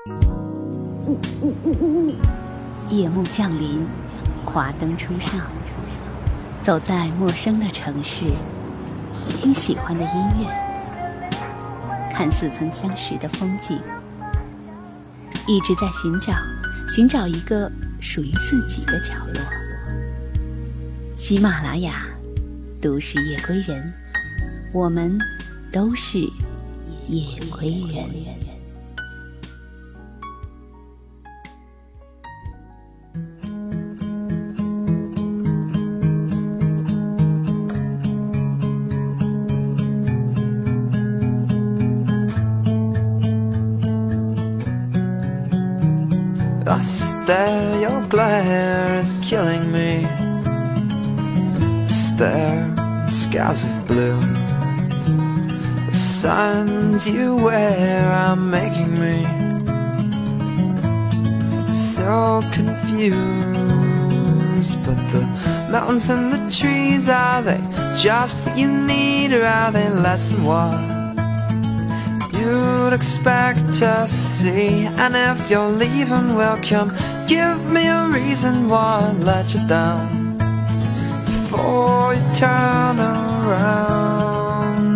夜幕降临，华灯初上，走在陌生的城市，听喜欢的音乐，看似曾相识的风景，一直在寻找一个属于自己的角落。喜马拉雅，都市夜归人，我们都是夜归人。 I stare, your glare is killing me. Stare, skies of blue. The signs you wear are making me so confused. But the mountains and the trees, are they just what you need, or are they less than what you'd expect to see? And if you're leaving, welcome, give me a reason why I'd let you down before you turn around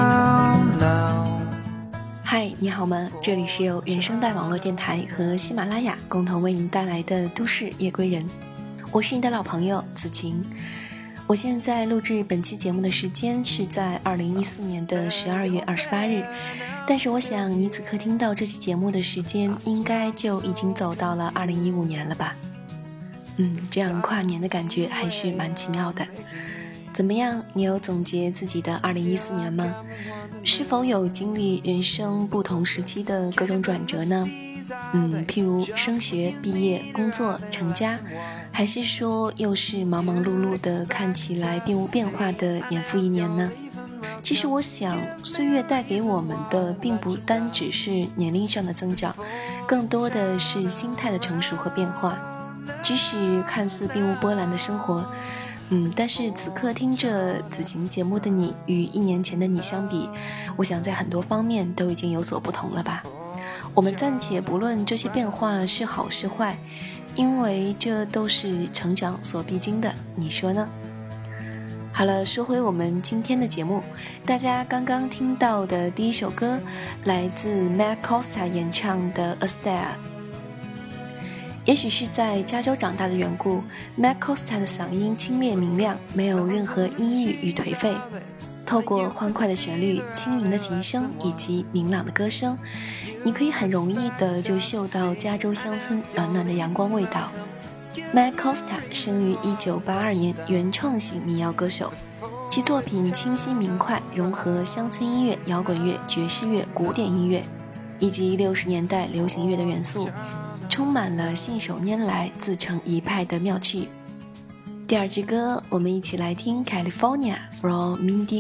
now. 嗨，你好吗？这里是由原声带网络电台和喜马拉雅共同为您带来的都市夜归人，我是你的老朋友子晴。我现在录制本期节目的时间是在2014年的12月28日，但是我想你此刻听到这期节目的时间应该就已经走到了2015年了吧。这样跨年的感觉还是蛮奇妙的。怎么样，你有总结自己的2014年吗？是否有经历人生不同时期的各种转折呢？譬如升学、毕业、工作、成家，还是说又是忙忙碌碌的看起来并无变化的年复一年呢？其实我想，岁月带给我们的并不单只是年龄上的增长，更多的是心态的成熟和变化。即使看似并无波澜的生活，但是此刻听着子晴节目的你，与1年前的你相比，我想在很多方面都已经有所不同了吧。我们暂且不论这些变化是好是坏，因为这都是成长所必经的，你说呢？好了，说回我们今天的节目，大家刚刚听到的第一首歌来自 Matt Costa 演唱的 A Star。 也许是在加州长大的缘故， Matt Costa 的嗓音清冽明亮，没有任何阴郁与颓废，透过欢快的旋律、轻盈的琴声以及明朗的歌声，你可以很容易的就嗅到加州乡村暖暖的阳光味道。Matt Costa 生于1982年，原创型民谣歌手，其作品清晰明快，融合乡村音乐、摇滚乐、爵士乐、古典音乐以及60年代流行乐的元素，充满了信手拈来、自成一派的妙趣。第二支歌，我们一起来听 California from Mindy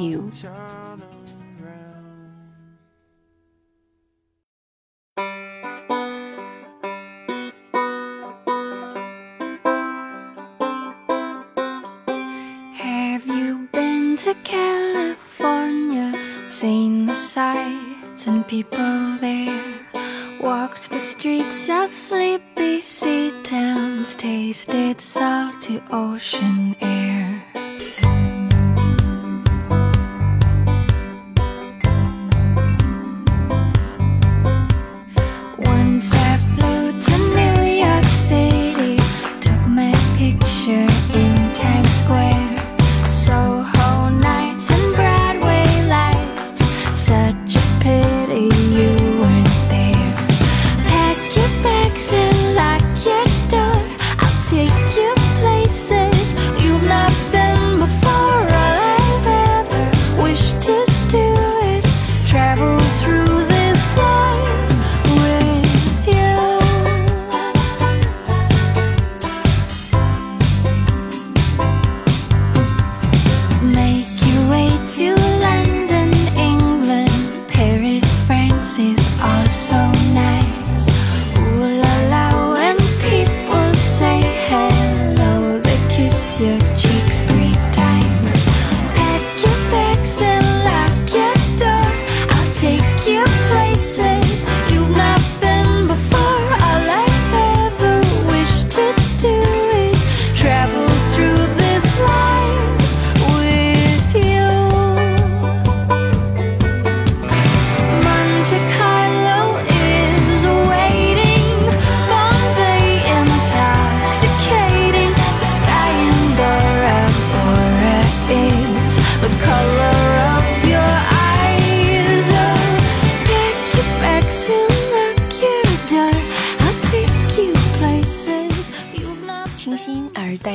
Gladhill。Have you been to California? Seen the sights and people there? Walked the streets of sleepy sea towns, tasted salty ocean air. Once I flew to New York City, took my picture in Times Square. Soho nights and Broadway lights, such a pity you weren't there. Pack your bags and lock your door, I'll take you places you've not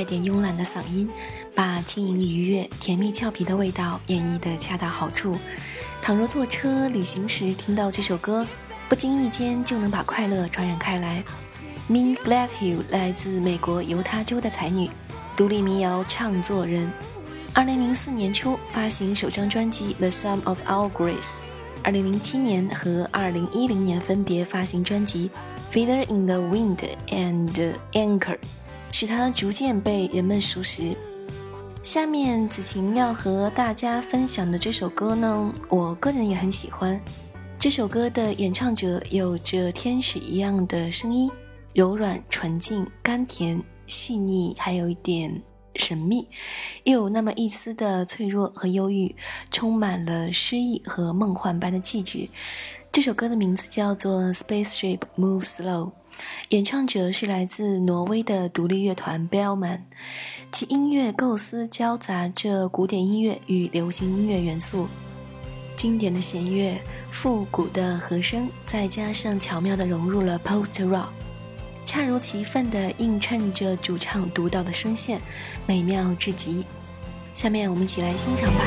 带点慵懒的嗓音，把轻盈愉悦、甜蜜俏皮的味道演绎得恰到好处。倘若坐车旅行时听到这首歌，不经意间就能把快乐传染开来。Min Gladhill 来自美国犹他州的才女，独立民谣唱作人。2004年初发行首张专辑 The Sum of Our Grace， 2007年和2010年分别发行专辑 Feather in the Wind and Anchor， 使她逐渐被人们熟识。下面子晴要和大家分享的这首歌呢，我个人也很喜欢。这首歌的演唱者有着天使一样的声音，柔软、纯净、甘甜、细腻，还有一点神秘，又有那么一丝的脆弱和忧郁，充满了诗意和梦幻般的气质。这首歌的名字叫做 Spaceship Move Slow， 演唱者是来自挪威的独立乐团 Bellman， 其音乐构思交杂着古典音乐与流行音乐元素，经典的弦乐、复古的和声，再加上巧妙地融入了 Post Rock，恰如其分地映衬着主唱独到的声线，美妙至极。下面我们一起来欣赏吧。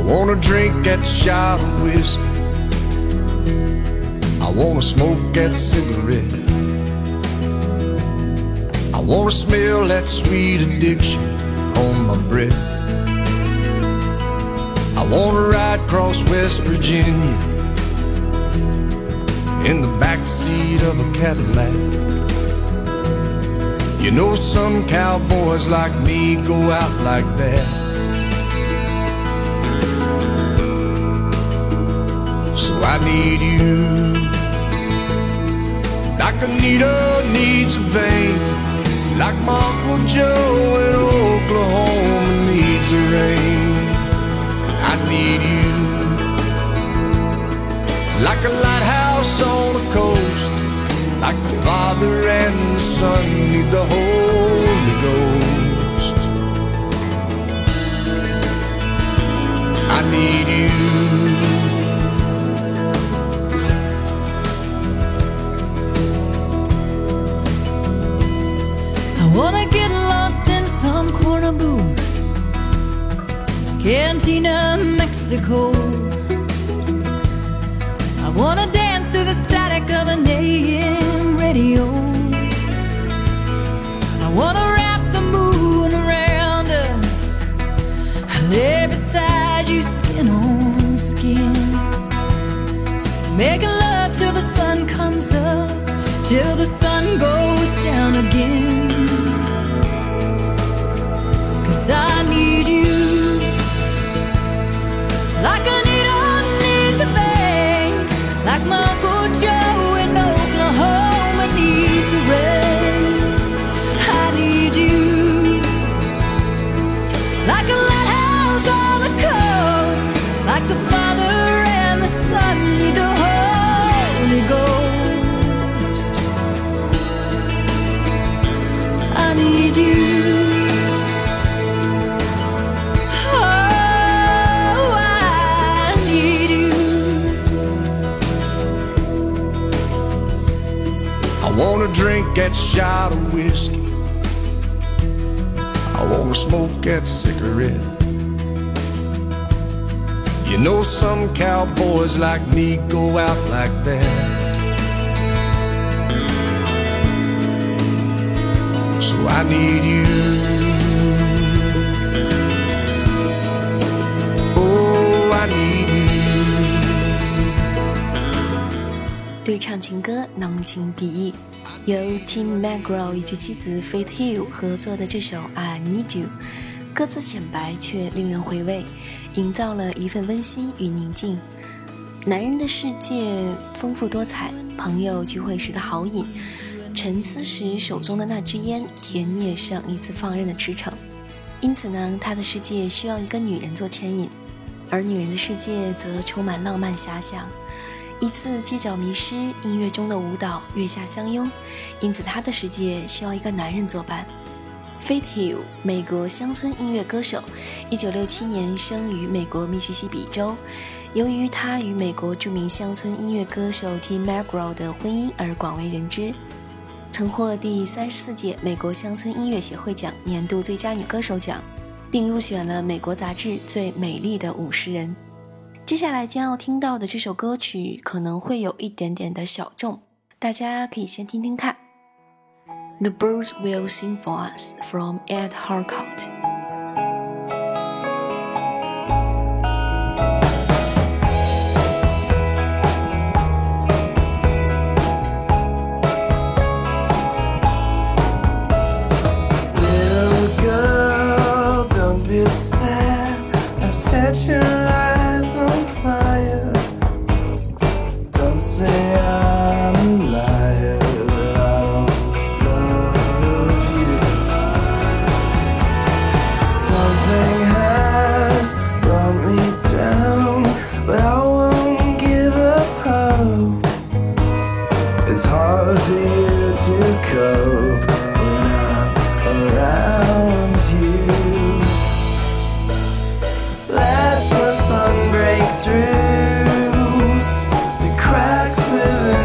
wanna drink that shot of whiskey. I wanna smoke that cigarette. I wanna smell that sweet addiction on my breath. I wanna ride across West Virginia in the backseat of a Cadillac. You know some cowboys like me go out like that. So I need you, like Anita needs a vein, like my Uncle Joe in Oklahoma needs a rain. I need you, like a lighthouse on the coast, like the Father and the Son need the Holy Ghost. I need you. I wanna get lost in some corner booth, Cantina, Mexico. I wanna dance to the static of an AM radio. I wanna wrap the moon around us, lay beside you skin on skin, making love till the sun comes up, till the sun goes down again. 'Cause I need you, like Anita needs a vein, like my Uncle Joe in Oklahoma needs a rain. I need you, like a lighthouse on the coast, like the Father and the Son need the Holy Ghost. I need you. I wanna drink that shot of whiskey. I wanna smoke that cigarette. You know some cowboys like me go out like that. So I need you. Oh, I need you. 对唱情歌浓情比意，由 Tim McGraw 以及妻子 Faith Hill 合作的这首 I Need You， 歌词浅白却令人回味，营造了一份温馨与宁静。男人的世界丰富多彩，朋友聚会时的豪饮，沉思时手中的那支烟，田野上一次放任的驰骋。因此呢，他的世界需要一个女人做牵引，而女人的世界则充满浪漫遐想。一次街角迷失，音乐中的舞蹈，月下相拥，因此他的世界需要一个男人作伴。Faith Hill， 美国乡村音乐歌手，1967年生于美国密西西比州。由于他与美国著名乡村音乐歌手 Tim McGraw 的婚姻而广为人知，曾获第34届美国乡村音乐协会奖年度最佳女歌手奖，并入选了美国杂志最美丽的50人。接下来将要听到的这首歌曲可能会有一点点的小众，大家可以先听听看。The Birds Will Sing For Us from Ed Harcourt。 Set your eyes on fire. Don't say I'm a liar, that I don't love you. Something has brought me down, but I won't give up hope. It's hard for you to cope when I'm around you. Let the sun break through the cracks within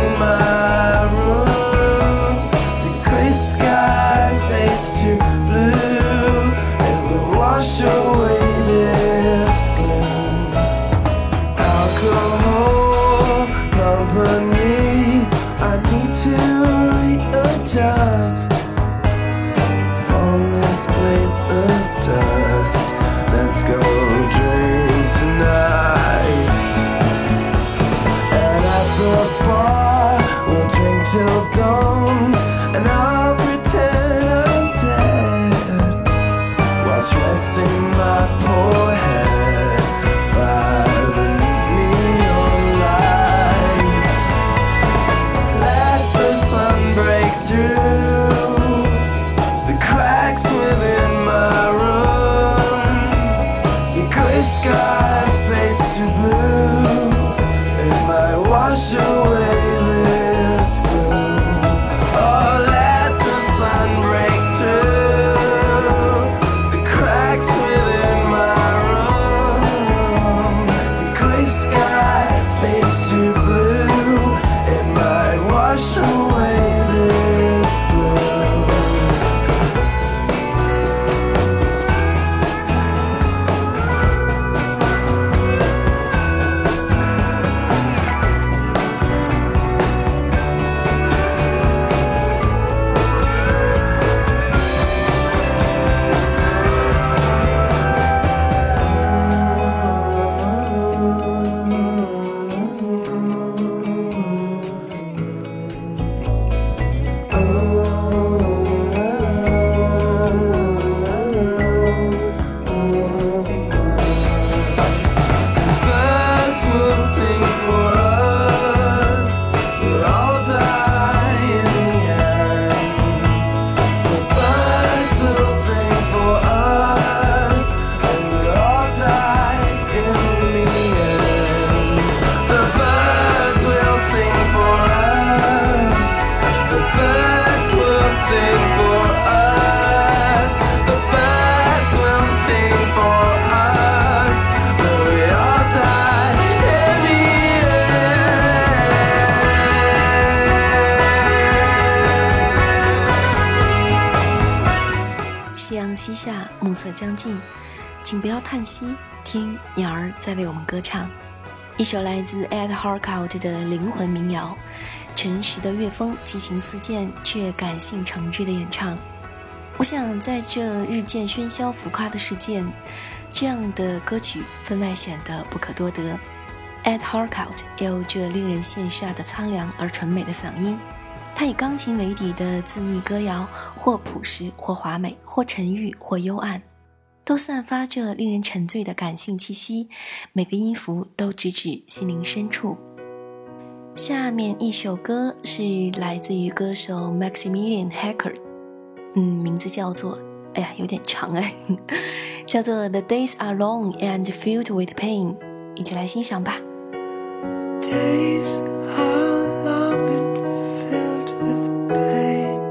色将近，请不要叹息，听鸟儿在为我们歌唱。一首来自 Ed Harcourt 的灵魂民谣，诚实的乐风，激情似箭却感性诚挚的演唱。我想在这日渐喧嚣浮夸的世界，这样的歌曲分外显得不可多得。Ed Harcourt 有着令人羡煞的苍凉而纯美的嗓音，他以钢琴为底的自溺歌谣，或朴实或华美，或沉郁或幽暗，都散发着令人沉醉的感性气息，每个音符都直指心灵深处。下面一首歌是来自于歌手 Maximilian Hacker， 名字叫做有点长叫做 The Days Are Long and Filled with Pain， 一起来欣赏吧。 Days are long and filled with pain.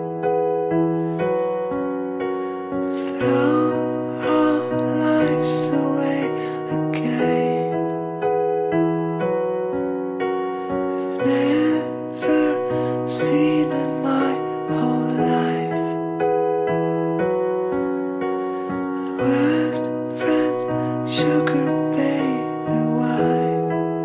Throw our lives away again. I've never seen in my whole life my worst friend's sugar baby wife.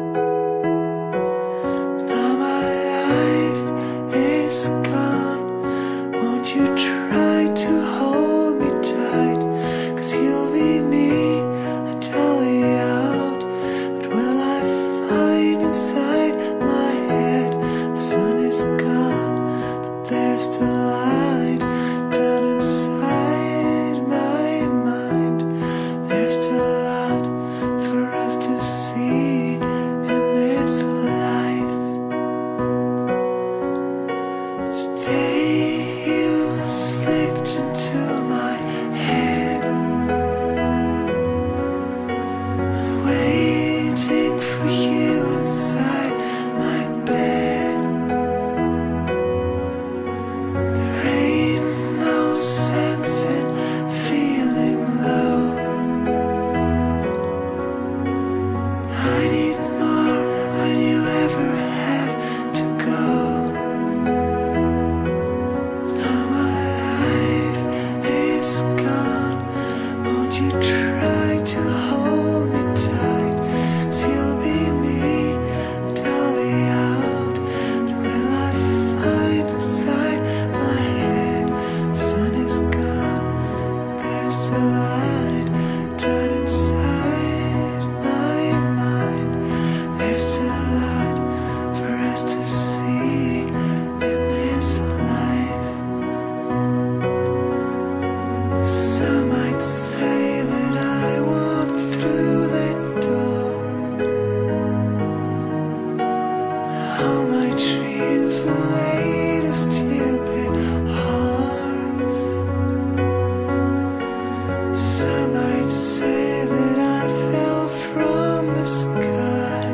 Now my life is gone. Won't you try to hold me tight? 'Cause you'll be me until we out. But will I find inside my head? The sun is gone, but there's still light. Down inside my mind, there's still a lot for us to see in this life. Today you slipped into my head, waiting for you inside my bed. There ain't no sense in feeling low. I need more when you ever have to go. Now my life is gone. Won't you try to hold me tight? 'Cause you'll be me until we out. But will I find inside my head? The sun is gone, but there's still light. Down inside my mind, there's still a lot for us to see in this life. Some might say that I walked through that door. All my dreams away to stupid hearts. Some might say that I fell from the sky.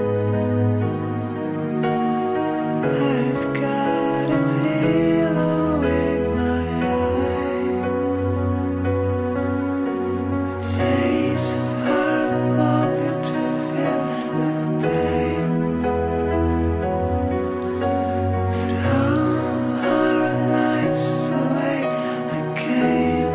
I've got a pillow in my eye. The days are long and filled with pain. Throw our lives away again.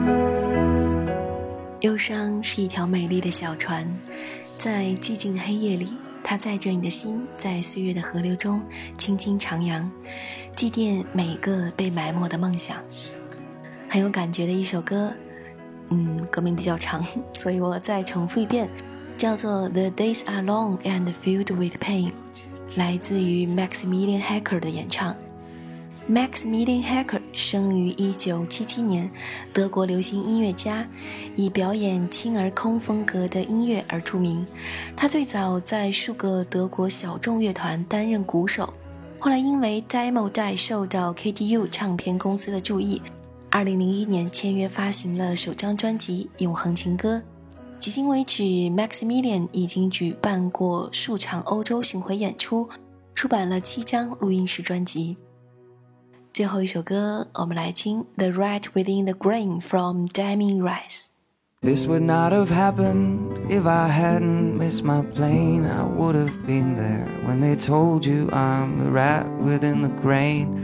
忧伤是一条美丽的小船，在寂静的黑夜里，它载着你的心，在岁月的河流中轻轻徜徉，祭奠每一个被埋没的梦想。很有感觉的一首歌，歌名比较长，所以我再重复一遍，叫做 The Days Are Long and Filled with Pain， 来自于 Maximilian Hacker 的演唱。Maximilian Hacker 生于1977年，德国流行音乐家，以表演轻而空风格的音乐而著名。他最早在数个德国小众乐团担任鼓手，后来因为 Demo 带受到 KTU 唱片公司的注意，2001年签约发行了首张专辑《永恒情歌》。迄今为止 Maximilian 已经举办过数场欧洲巡回演出，出版了7张录音室专辑。最后一首歌，我们来听 The Rat Within the Grain from Damien Rice。 This would not have happened if I hadn't missed my plane. I would have been there when they told you I'm the rat within the grain.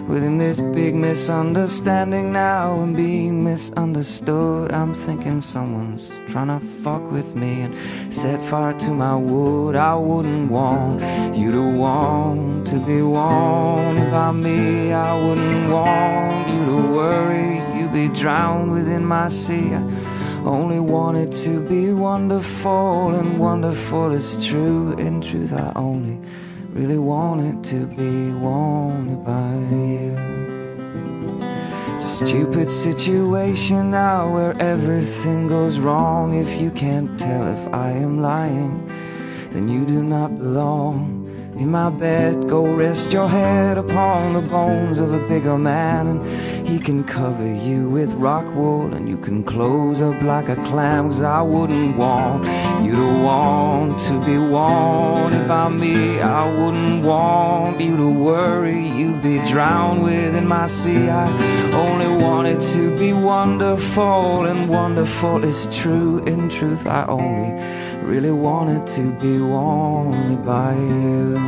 Within this big misunderstanding now and being misunderstood, I'm thinking someone's trying to fuck with me and set fire to my wood. I wouldn't want you to want to be wanted by me. I wouldn't want you to worry you'd be drowned within my sea. I only want it to be wonderful, and wonderful is true. In truth, I only really want it to be wanted by you. It's a stupid situation now where everything goes wrong. If you can't tell if I am lying, then you do not belong in my bed. Go rest your head upon the bones of a bigger man, and he can cover you with rock wool, and you can close up like a clam. 'Cause I wouldn't want you to want to be wanted by me. I wouldn't want you to worry you'd be drowned within my sea. I only want it to be wonderful, and wonderful is true. In truth, I only really want it to be wanted by you.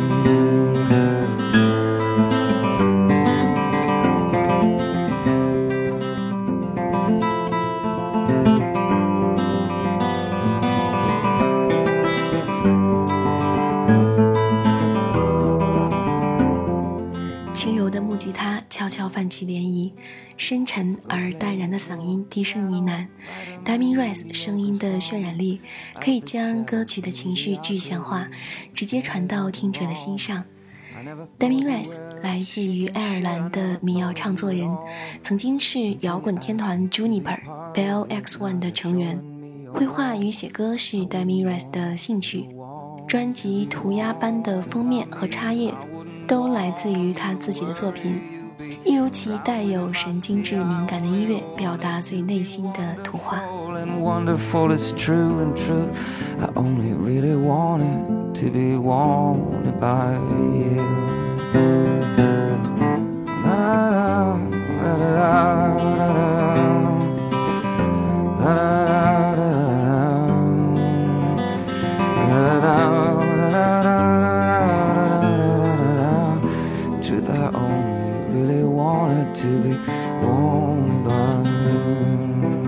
轻柔的木吉他悄悄泛起涟漪，深沉而淡然的嗓音低声呢喃。Damien Rice 声音的渲染力可以将歌曲的情绪具象化，直接传到听者的心上。Damien Rice 来自于爱尔兰的民谣唱作人，曾经是摇滚天团 Juniper、Bell X1 的成员。绘画与写歌是 Damien Rice 的兴趣，专辑涂鸦般的封面和插页都来自于他自己的作品，一如其带有神经质敏感的音乐，表达最内心的图画。 And wonderful is true, in truth, I only really want it to be wanted by you. Truth, I only really want it to be wanted by you.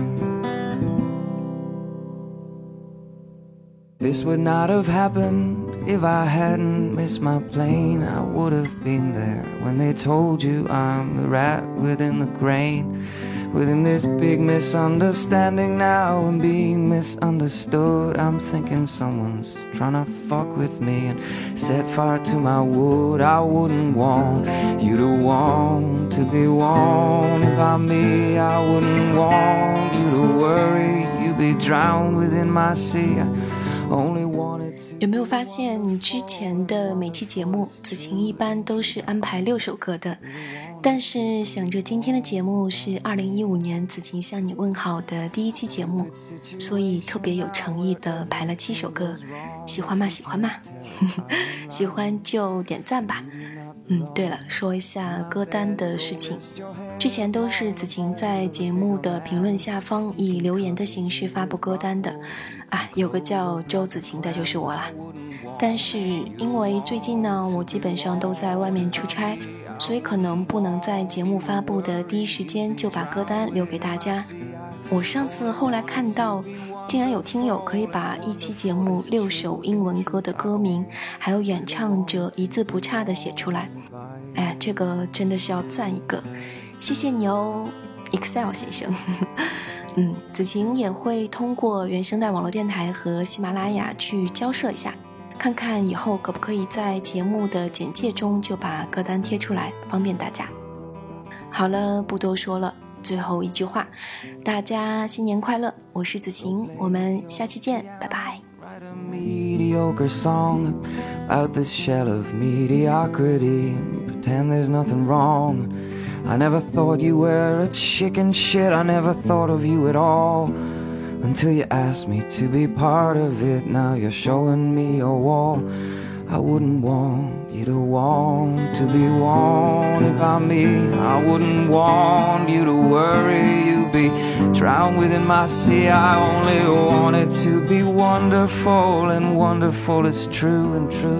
This would not have happened if I hadn't missed my plane. I would have been there when they told you I'm the rat within the grain. Within this big misunderstanding now and being misunderstood, I'm thinking someone's trying to fuck with me and set fire to my wood. I wouldn't want you to want to be wanted by me. I wouldn't want you to worry you'd be drowned within my sea. I only wanted to. 有没有发现之前的每期节目子晴一般都是安排6首歌的，但是想着今天的节目是2015年子晴向你问好的第1期节目，所以特别有诚意的排了7首歌。喜欢吗？喜欢吗？喜欢就点赞吧。对了，说一下歌单的事情，之前都是子晴在节目的评论下方以留言的形式发布歌单的，有个叫周子晴的就是我啦。但是因为最近呢，我基本上都在外面出差，所以可能不能在节目发布的第一时间就把歌单留给大家。我上次后来看到竟然有听友可以把一期节目6首英文歌的歌名还有演唱者一字不差的写出来，这个真的是要赞一个，谢谢你哦 Excel 先生。子晴也会通过原声带网络电台和喜马拉雅去交涉一下，看看以后可不可以在节目的简介中就把歌单贴出来，方便大家。好了，不多说了，最后一句话，大家新年快乐，我是子晴，我们下期见，拜拜。 Write a mediocre song about this shell of mediocrity and pretend there's nothing wrong. I never thought you were a chicken shit, I never thought of you at all until you asked me to be part of it. Now you're showing me your wall. I wouldn't want you to want to be wanted by me. I wouldn't want you to worry you'd be drowned within my sea. I only want it to be wonderful, and wonderful is true. In truth,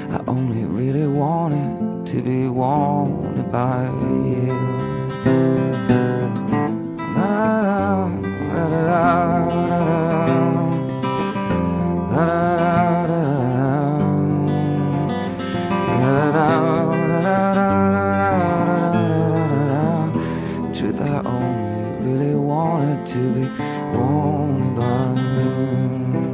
I only really wanted to be wanted by you. Truth, I only really wanted to be wanted by you.